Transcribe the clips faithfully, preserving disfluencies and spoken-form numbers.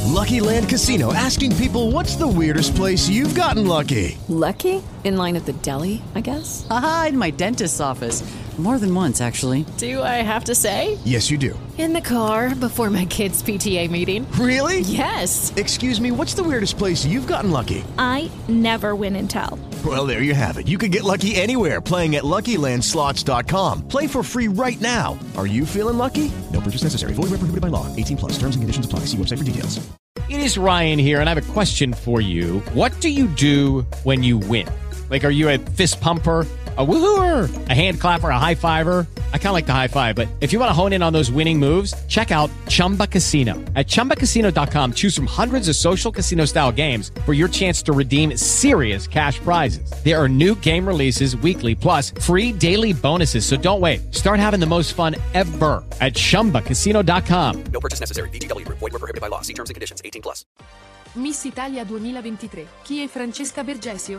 Lucky Land Casino, asking people, what's the weirdest place you've gotten lucky? Lucky? In line at the deli, I guess? Aha, in my dentist's office. More than once, actually. Do I have to say? Yes, you do. In the car before my kids' P T A meeting. Really? Yes. Excuse me, what's the weirdest place you've gotten lucky? I never win and tell. Well, there you have it. You can get lucky anywhere, playing at Lucky Land Slots dot com. Play for free right now. Are you feeling lucky? No purchase necessary. Void where prohibited by law. eighteen plus. Terms and conditions apply. See website for details. It is Ryan here, and I have a question for you. What do you do when you win? Like, are you a fist pumper, a woohooer, a hand clapper, a high fiver? I kind of like the high five, but if you want to hone in on those winning moves, check out Chumba Casino. At Chumba Casino dot com, choose from hundreds of social casino-style games for your chance to redeem serious cash prizes. There are new game releases weekly, plus free daily bonuses, so don't wait. Start having the most fun ever at Chumba Casino dot com. No purchase necessary. V G W. Void where prohibited by law. See terms and conditions. eighteen plus. Miss Italia duemilaventitré. Chi è Francesca Bergesio?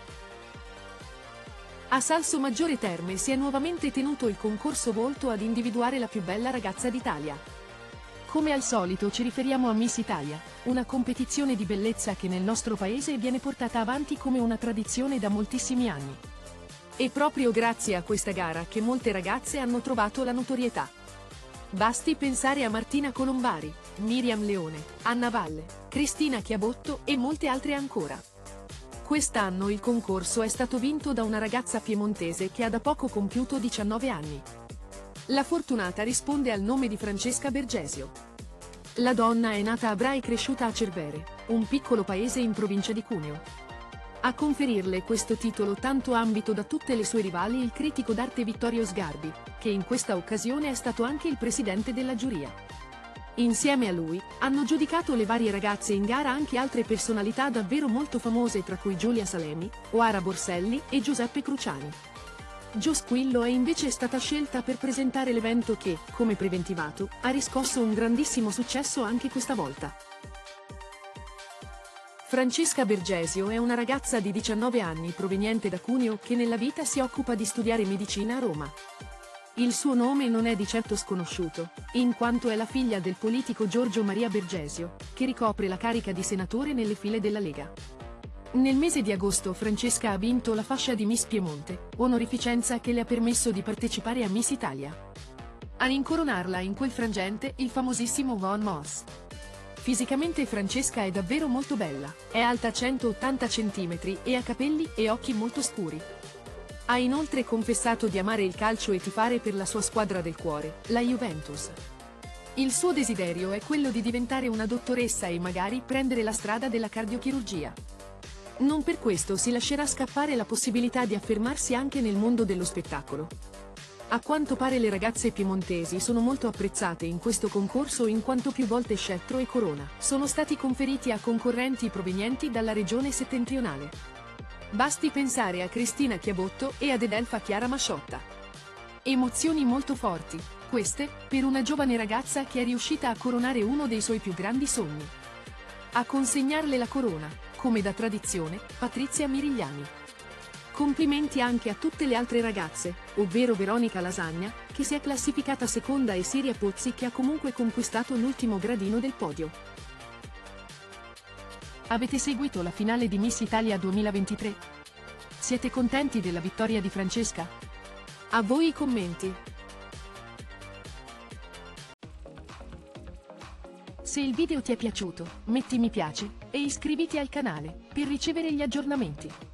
A Salsomaggiore Terme si è nuovamente tenuto il concorso volto ad individuare la più bella ragazza d'Italia. Come al solito ci riferiamo a Miss Italia, una competizione di bellezza che nel nostro paese viene portata avanti come una tradizione da moltissimi anni. È proprio grazie a questa gara che molte ragazze hanno trovato la notorietà. Basti pensare a Martina Colombari, Miriam Leone, Anna Valle, Cristina Chiabotto e molte altre ancora. Quest'anno il concorso è stato vinto da una ragazza piemontese che ha da poco compiuto diciannove anni. La fortunata risponde al nome di Francesca Bergesio. La donna è nata a Bra e cresciuta a Cervere, un piccolo paese in provincia di Cuneo. A conferirle questo titolo tanto ambito da tutte le sue rivali il critico d'arte Vittorio Sgarbi, che in questa occasione è stato anche il presidente della giuria. Insieme a lui, hanno giudicato le varie ragazze in gara anche altre personalità davvero molto famose, tra cui Giulia Salemi, Oara Borselli e Giuseppe Cruciani. Gio Squillo è invece stata scelta per presentare l'evento che, come preventivato, ha riscosso un grandissimo successo anche questa volta. Francesca Bergesio è una ragazza di diciannove anni proveniente da Cuneo che nella vita si occupa di studiare medicina a Roma. Il suo nome non è di certo sconosciuto, in quanto è la figlia del politico Giorgio Maria Bergesio, che ricopre la carica di senatore nelle file della Lega. Nel mese di agosto Francesca ha vinto la fascia di Miss Piemonte, onorificenza che le ha permesso di partecipare a Miss Italia. A incoronarla in quel frangente il famosissimo Von Moss. Fisicamente Francesca è davvero molto bella, è alta centottanta centimetri e ha capelli e occhi molto scuri. Ha inoltre confessato di amare il calcio e tifare per la sua squadra del cuore, la Juventus. Il suo desiderio è quello di diventare una dottoressa e magari prendere la strada della cardiochirurgia. Non per questo si lascerà scappare la possibilità di affermarsi anche nel mondo dello spettacolo. A quanto pare le ragazze piemontesi sono molto apprezzate in questo concorso in quanto più volte scettro e corona sono stati conferiti a concorrenti provenienti dalla regione settentrionale. Basti pensare a Cristina Chiabotto e ad Edelfa Chiara Masciotta. Emozioni molto forti, queste, per una giovane ragazza che è riuscita a coronare uno dei suoi più grandi sogni. A consegnarle la corona, come da tradizione, Patrizia Mirigliani. Complimenti anche a tutte le altre ragazze, ovvero Veronica Lasagna, che si è classificata seconda, e Siria Pozzi, che ha comunque conquistato l'ultimo gradino del podio. Avete seguito la finale di Miss Italia duemilaventitré? Siete contenti della vittoria di Francesca? A voi i commenti! Se il video ti è piaciuto, metti mi piace e iscriviti al canale per ricevere gli aggiornamenti.